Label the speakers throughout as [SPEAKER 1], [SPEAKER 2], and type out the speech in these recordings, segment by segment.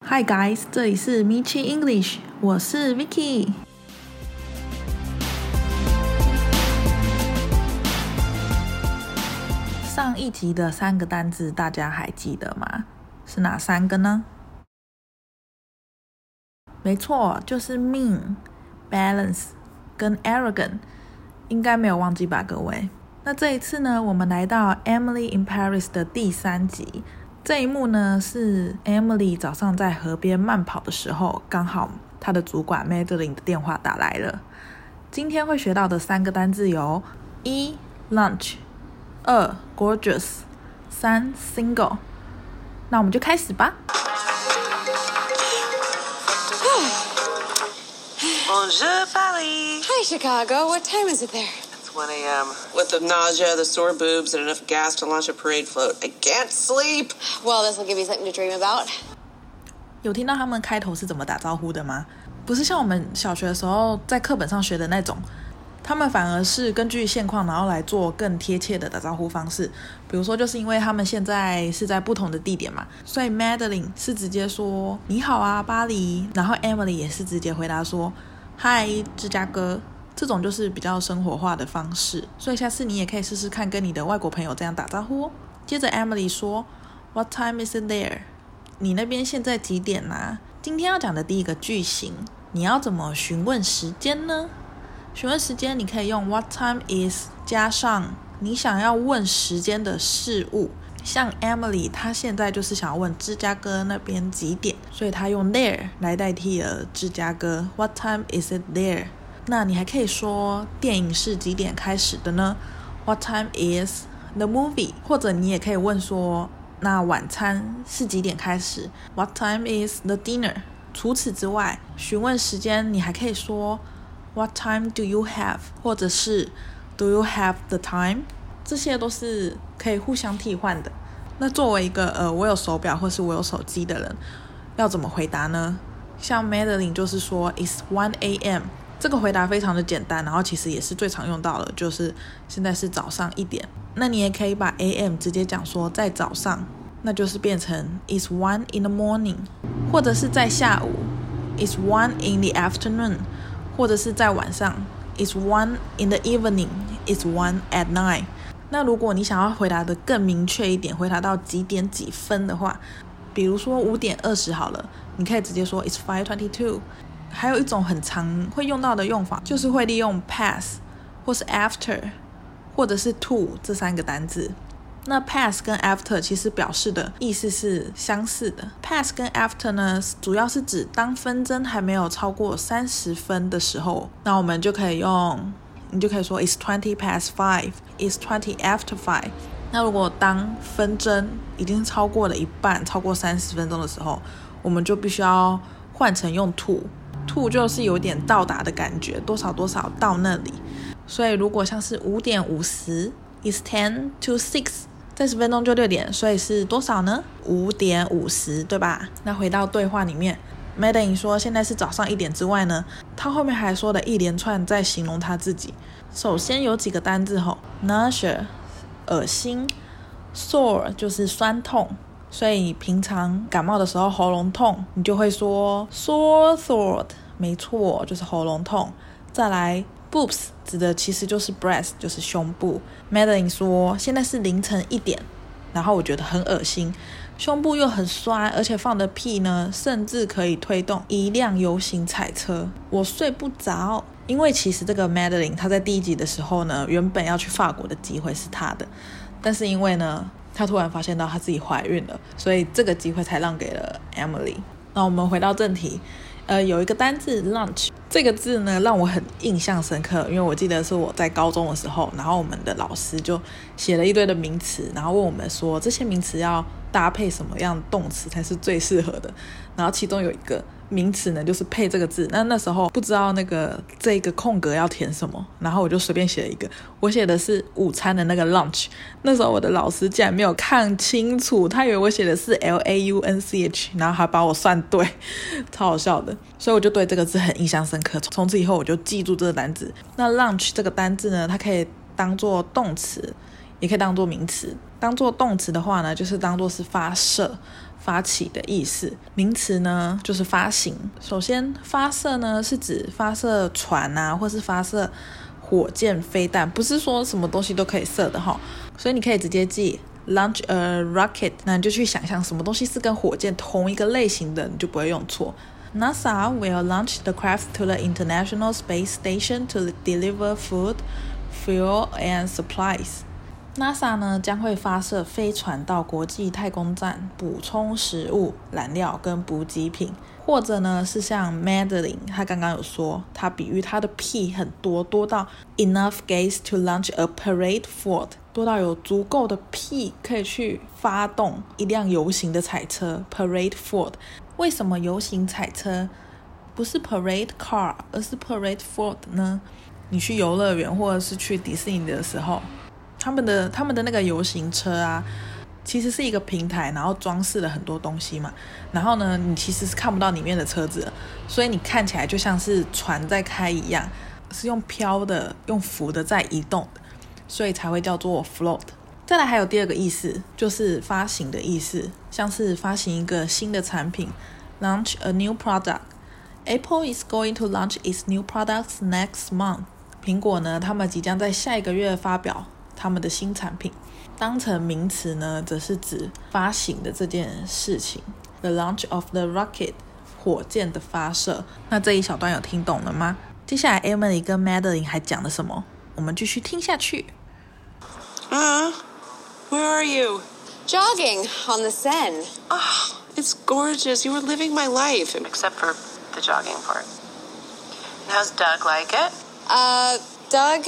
[SPEAKER 1] Hi guys， 这里是 Michi English， 我是 Vicky。上一集的3个单字大家还记得吗？是哪3个呢？没错，就是 mean、balance 跟 arrogant， 应该没有忘记吧各位？那这一次呢，我们来到 Emily in Paris 的第3集。这一幕呢，是 Emily 早上在河边慢跑的时候，刚好她的主管 Madeline 的电话打来了。今天会学到的3个单字有1 lunch、2 gorgeous、3 single。那我们就开始吧。
[SPEAKER 2] Bonjour, Paris.
[SPEAKER 3] Hi, Chicago. What time is it there?
[SPEAKER 2] It's 1 a.m. With the nausea, the sore boobs, and enough gas to launch a parade float, I can't sleep.
[SPEAKER 3] Well, this will give you something to dream about.
[SPEAKER 1] 有听到他们开头是怎么打招呼的吗？不是像我们小学的时候在课本上学的那种，他们反而是根据现况，然后来做更贴切的打招呼方式。比如说，就是因为他们现在是在不同的地点嘛，所以 Madeline 是直接说你好啊，巴黎，然后 Emily 也是直接回答说嗨，芝加哥。这种就是比较生活化的方式，所以下次你也可以试试看跟你的外国朋友这样打招呼哦。接着 Emily 说 What time is it there？ 你那边现在几点啊？今天要讲的第一个句型，你要怎么询问时间呢？询问时间你可以用 What time is 加上你想要问时间的事物，像 Emily 她现在就是想要问芝加哥那边几点，所以她用 there 来代替了芝加哥。 What time is it there？ 那你还可以说电影是几点开始的呢？ What time is the movie？ 或者你也可以问说那晚餐是几点开始？ What time is the dinner？ 除此之外，询问时间你还可以说 What time do you have？ 或者是 Do you have the time？ 这些都是可以互相替换的。那作为一个我有手表或是我有手机的人，要怎么回答呢？像 Madeline 就是说 It's 1 a.m. 这个回答非常的简单，然后其实也是最常用到的，就是现在是早上1点。那你也可以把 a.m. 直接讲说在早上，那就是变成 It's 1 in the morning， 或者是在下午 It's 1 in the afternoon， 或者是在晚上 It's 1 in the evening， It's 1 at night。 那如果你想要回答的更明确一点，回答到几点几分的话，比如说5点20好了，你可以直接说 It's 5:22。还有一种很常会用到的用法，就是会利用 pass 或是 after 或者是 to 这3个单字。那 pass 跟 after 其实表示的意思是相似的。 pass 跟 after 呢，主要是指当分针还没有超过30分的时候，那我们就可以用，你就可以说 It's 20 past 5， It's 20 after 5。 那如果当分针已经超过了一半，超过30分钟的时候，我们就必须要换成用 to 就是有点到达的感觉，多少多少到那里。所以如果像是5点50 It's 10 to 6， 再10分钟就6点，所以是多少呢？5点50，对吧？那回到对话里面， Madeline 说现在是早上1点之外呢，他后面还说了一连串在形容他自己。首先有几个单字吼 nausea 恶心， sore 就是酸痛，所以你平常感冒的时候喉咙痛，你就会说 sore throat， 没错，就是喉咙痛。再来 boobs 指的其实就是 breast， 就是胸部。 Madeline 说现在是凌晨1点，然后我觉得很恶心，胸部又很酸，而且放的屁呢甚至可以推动一辆游行彩车，我睡不着。因为其实这个 Madeline 她在第1集的时候呢，原本要去法国的机会是她的，但是因为呢她突然发现到她自己怀孕了，所以这个机会才让给了 Emily。 那我们回到正题，有一个单字 lunch， 这个字呢让我很印象深刻，因为我记得是我在高中的时候，然后我们的老师就写了一堆的名词，然后问我们说这些名词要搭配什么样动词才是最适合的，然后其中有一个名词呢就是配这个字。那时候不知道这个空格要填什么，然后我就随便写了一个，我写的是午餐的那个 lunch。 那时候我的老师竟然没有看清楚，他以为我写的是 LAUNCH， 然后还把我算对，超好笑的。所以我就对这个字很印象深刻，从此以后我就记住这个单字。那 lunch 这个单字呢，它可以当做动词，也可以当做名词。当做动词的话呢，就是当做是发发起的意思。名词呢就是发行。首先发射呢是指发射船啊，或是发射火箭飞弹，不是说什么东西都可以射的齁。所以你可以直接记 launch a rocket， 那你就去想象什么东西是跟火箭同一个类型的，你就不会用错。NASA will launch the craft to the International Space Station to deliver food, fuel and supplies. NASA 呢将会发射飞船到国际太空站补充食物、燃料跟补给品。或者呢是像 Madeline 他刚刚有说，他比喻他的屁很多，多到 enough gas to launch a parade fort， 多到有足够的屁可以去发动一辆游行的彩车 parade fort。为什么游行彩车不是 parade car 而是 parade fort 呢？你去游乐园或者是去迪士尼的时候，他们的那个游行车啊，其实是一个平台，然后装饰了很多东西嘛，然后呢你其实是看不到里面的车子了，所以你看起来就像是船在开一样，是用飘的用浮的在移动的，所以才会叫做 float。再来还有第二个意思，就是发行的意思，像是发行一个新的产品 launch a new product。 Apple is going to launch its new products next month。 苹果呢他们即将在下一个月发表他们的新产品。当成名词呢则是指发行的这件事情， The launch of the rocket， 火箭的发射。那这一小段有听懂了吗？接下来 Emily 跟 Madeline 还讲了什么？我们继续听下去。
[SPEAKER 2] Where are you?
[SPEAKER 3] Jogging on the Seine.
[SPEAKER 2] Oh, it's gorgeous. You were living my life. Except for the jogging part. And how's Doug like it?
[SPEAKER 3] Doug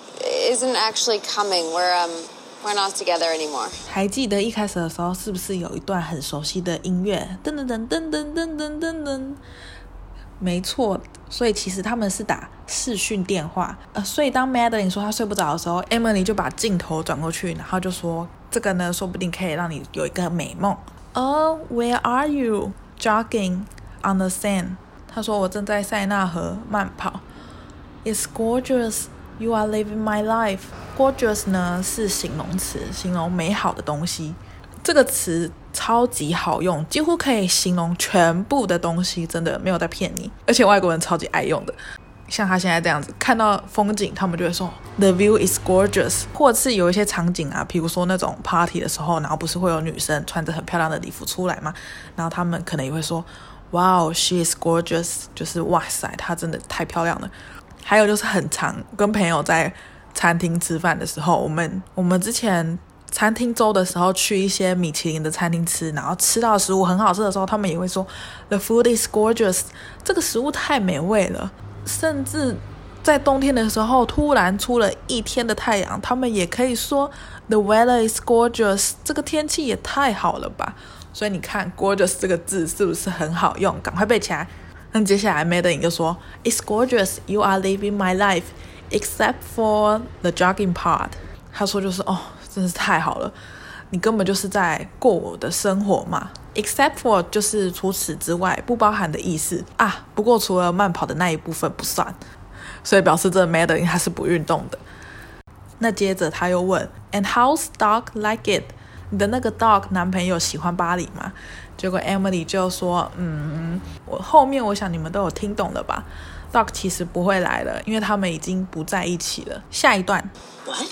[SPEAKER 3] isn't actually coming. We're not together anymore.
[SPEAKER 1] 还记得一开始的时候是不是有一段很熟悉的音乐？噔噔噔噔噔噔噔噔噔。没错，所以其实他们是打视讯电话。所以当 Madeline 说她睡不着的时候， Emily 就把镜头转过去，然后就说这个呢说不定可以让你有一个美梦。Where are you? Jogging on the Seine. 她说我正在塞纳河慢跑。It's gorgeous. You are living my life. Gorgeous 呢是形容词，形容美好的东西。这个词超级好用，几乎可以形容全部的东西，真的没有在骗你。而且外国人超级爱用的，像他现在这样子，看到风景他们就会说 The view is gorgeous。 或者是有一些场景啊，比如说那种 party 的时候，然后不是会有女生穿着很漂亮的礼服出来吗？然后他们可能也会说 Wow, she is gorgeous， 就是哇塞她真的太漂亮了。还有就是很常跟朋友在餐厅吃饭的时候，我们之前餐厅周的时候去一些米其林的餐厅吃，然后吃到食物很好吃的时候，他们也会说 The food is gorgeous， 这个食物太美味了。甚至在冬天的时候突然出了一天的太阳，他们也可以说 The weather is gorgeous， 这个天气也太好了吧。所以你看 gorgeous 这个字是不是很好用？赶快背起来。那接下来 Madeline 就说 It's gorgeous, you are living my life except for the jogging part。 他说就是真是太好了，你根本就是在过我的生活嘛。 except for 就是除此之外，不包含的意思啊。不过除了慢跑的那一部分不算，所以表示这 Madeline 他是不运动的。那接着他又问 And how's Doug like it？ 你的那个 Doug 男朋友喜欢巴黎吗？结果 Emily 就说我后面我想你们都有听懂了吧。 Doug 其实不会来了，因为他们已经不在一起了。下一段
[SPEAKER 2] What?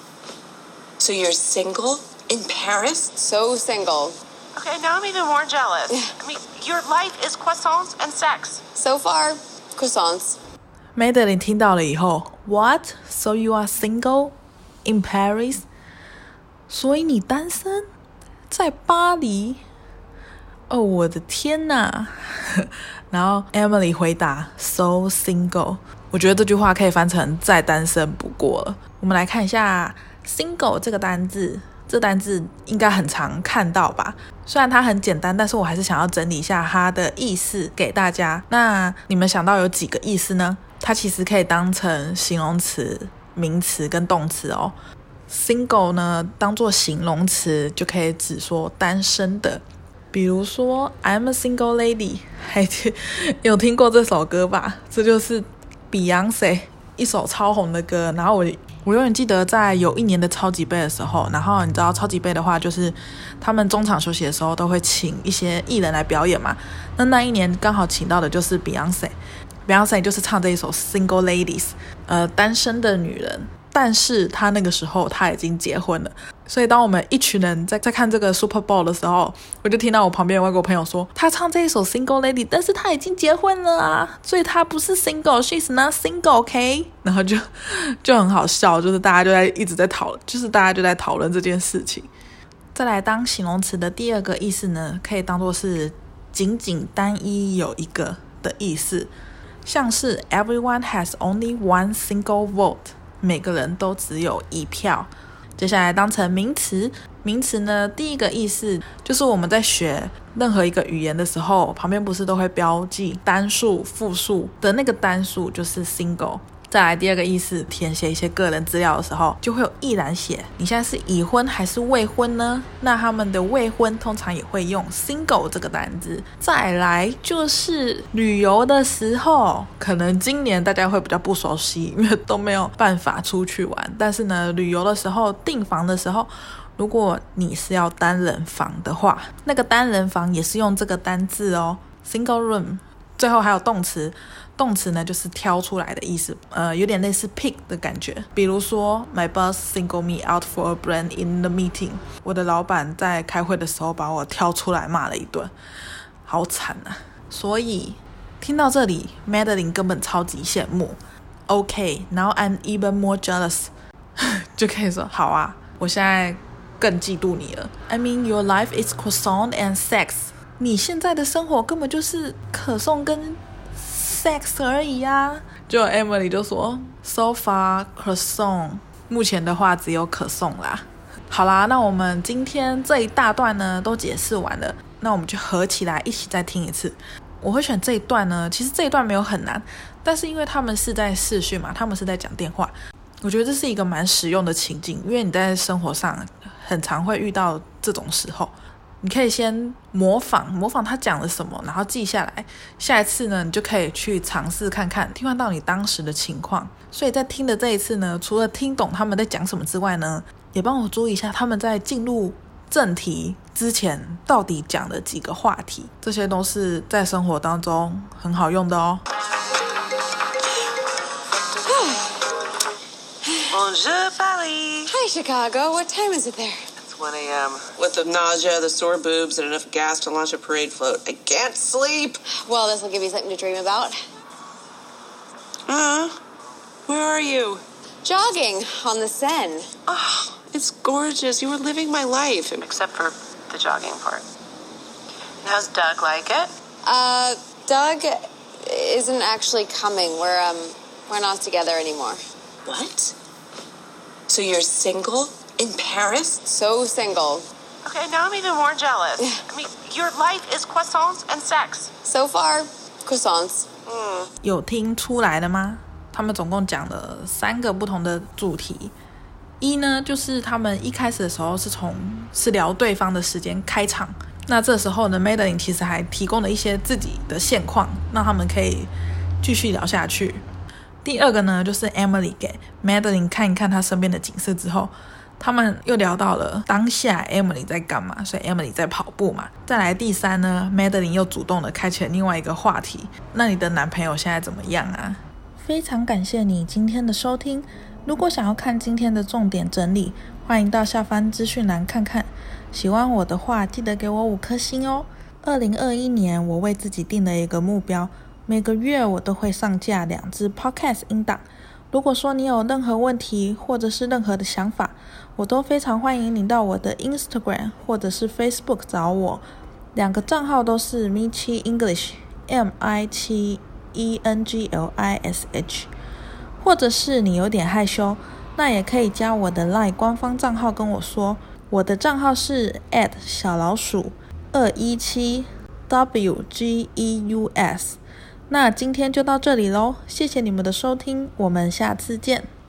[SPEAKER 2] So you're single in Paris?
[SPEAKER 3] So single.
[SPEAKER 2] Okay, now I'm even more jealous. I mean, your life is croissants and sex.
[SPEAKER 3] So far, croissants.
[SPEAKER 1] Madeline 听到了以后 What? So you are single in Paris? 所以你单身在巴黎？我的天哪。然后 Emily 回答 So single。 我觉得这句话可以翻成再单身不过了。我们来看一下 single 这个单字，这单字应该很常看到吧。虽然它很简单，但是我还是想要整理一下它的意思给大家。那你们想到有几个意思呢？它其实可以当成形容词、名词跟动词哦。single 呢当作形容词就可以指说单身的，比如说 I'm a single lady， 还有听过这首歌吧？这就是 Beyonce 一首超红的歌，然后我永远记得在有一年的超级杯的时候，然后你知道超级杯的话，就是他们中场休息的时候都会请一些艺人来表演嘛。那一年刚好请到的就是 Beyonce 就是唱这一首 Single Ladies， 单身的女人。但是她那个时候她已经结婚了，所以当我们一群人在看这个 Super Bowl 的时候，我就听到我旁边的外国朋友说，她唱这一首 Single Lady， 但是她已经结婚了啊，所以她不是 Single， She's not Single， OK？ 然后就很好笑，就是大家就一直在讨论，就是大家就在讨论这件事情。再来当形容词的第二个意思呢，可以当作是仅仅单一有一个的意思，像是 Everyone has only one single vote，每个人都只有一票。接下来当成名词，名词呢，第一个意思就是我们在学任何一个语言的时候，旁边不是都会标记单数、复数的那个单数就是 single。再来第二个意思，填写一些个人资料的时候，就会有一栏写你现在是已婚还是未婚呢？那他们的未婚通常也会用 single 这个单字。再来就是旅游的时候，可能今年大家会比较不熟悉，因为都没有办法出去玩。但是呢，旅游的时候订房的时候，如果你是要单人房的话，那个单人房也是用这个单字哦 ，single room。最后还有动词，动词呢就是挑出来的意思，有点类似 pick 的感觉。比如说 My boss singled me out for a brand in the meeting， 我的老板在开会的时候把我挑出来骂了一顿，好惨啊。所以听到这里 Madeline 根本超级羡慕。 OK, now I'm even more jealous 就可以说好啊，我现在更嫉妒你了。 I mean your life is croissant and sex，你现在的生活根本就是可颂跟 sex 而已啊。就 Emily 就说 So far croissant， 目前的话只有可颂啦。好啦，那我们今天这一大段呢都解释完了，那我们就合起来一起再听一次。我会选这一段呢，其实这一段没有很难，但是因为他们是在视讯嘛，他们是在讲电话，我觉得这是一个蛮实用的情境，因为你在生活上很常会遇到这种时候。你可以先模仿他讲了什么，然后记下来，下一次呢你就可以去尝试看看，替换到你当时的情况。所以在听的这一次呢，除了听懂他们在讲什么之外呢，也帮我注意一下他们在进入正题之前到底讲了几个话题，这些都是在生活当中很好用的哦。
[SPEAKER 2] Bonjour, Paris.
[SPEAKER 3] Hi, Chicago. What time is it there?
[SPEAKER 2] 1 a.m. With the nausea, the sore boobs, and enough gas to launch a parade float. I can't sleep.
[SPEAKER 3] Well, this will give you something to dream about.
[SPEAKER 2] Where are you?
[SPEAKER 3] Jogging on the Seine.
[SPEAKER 2] Oh, it's gorgeous. You were living my life. Except for the jogging part. And how's Doug like it?
[SPEAKER 3] Doug isn't actually coming. We're not together anymore.
[SPEAKER 2] What? So you're single? In Paris?
[SPEAKER 3] So single.
[SPEAKER 2] Okay, now I'm even more jealous. I mean, your life is croissants and sex.
[SPEAKER 3] So far, croissants.
[SPEAKER 1] 有听出来了吗？他们总共讲了3个不同的主题。一呢，就是他们一开始的时候是聊对方的时间开场，那这时候呢 Madeline 其实还提供了一些自己的现况，让他们可以继续聊下去。第二个呢，就是 Emily 给 Madeline 看一看她身边的景色之后，他们又聊到了当下 Emily 在干嘛，所以 Emily 在跑步嘛。再来第3呢， Madeline 又主动的开启了另外一个话题，那你的男朋友现在怎么样啊？非常感谢你今天的收听，如果想要看今天的重点整理，欢迎到下方资讯栏看看。喜欢我的话记得给我5颗星哦。2021年我为自己定了一个目标，每个月我都会上架2支 podcast 音档。如果说你有任何问题或者是任何的想法，我都非常欢迎你到我的 Instagram 或者是 Facebook 找我，2个账号都是 Michi English MICHI ENGLISH， 或者是你有点害羞，那也可以加我的 LINE 官方账号跟我说，我的账号是 @217WGEUS。那今天就到这里咯，谢谢你们的收听，我们下次见。